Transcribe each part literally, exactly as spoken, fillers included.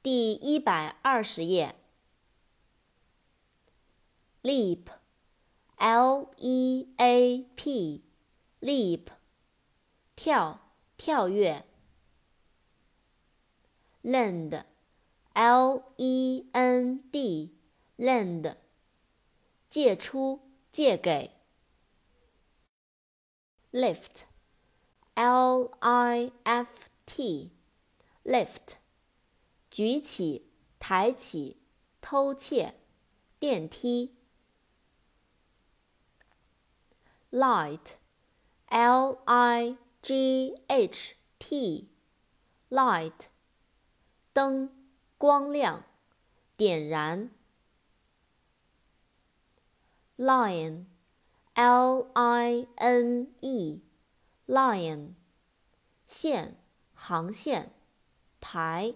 第一百二十页。leap，L E A P，leap，跳，跳跃。lend，L E N D，lend，借出，借给。lift，L I F T，lift，举起，抬起，偷窃，电梯。light，L I G H T，light，灯，光亮，点燃。lion，L I N E，lion，线，航线，排。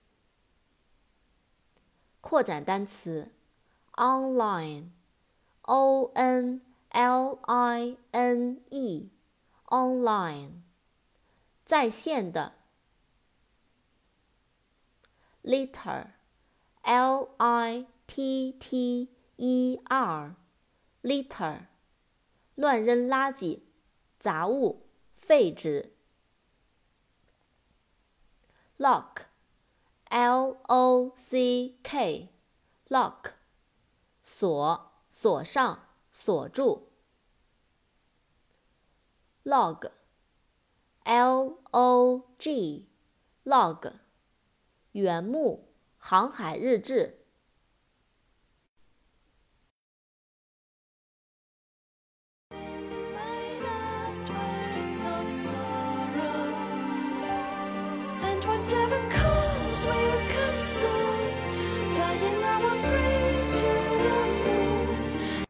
扩展单词 online，O N L I N E，online，在线的。litter，L I T T E R，litter，乱扔垃圾，杂物，废纸。lock，L O C K，lock，锁，锁上，锁住。log，L O G，log，原目，航海日志。 Whatever